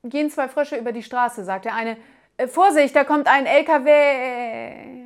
gehen zwei Frösche über die Straße, sagt der eine. Vorsicht, da kommt ein LKW.